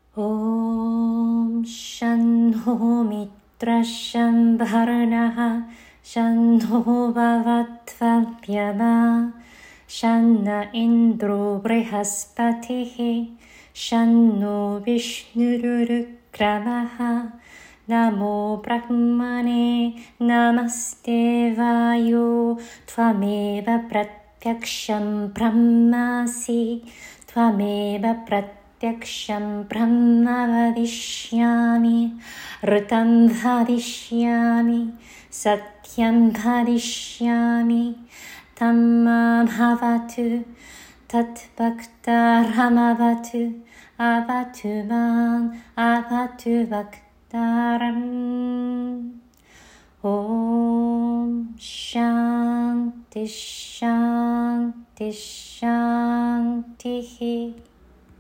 Om Shanno Mitra Shambharanaha Shanno Bhavatvapyama Shanna Indro Brihaspatihi Shanno Vishnurukramaha Namo Brahmane Namaste Vayo Tvameva Pratyaksham Brahmasi Tvameva Pratyaksham Brahma Vadishyami Ritam Vadishyami Satyam Vadishyami Tammam Havatu Tat Bhakta Ramavatu Avatu Man Avatu Bhaktaram. Om Shanti Shanti Shanti.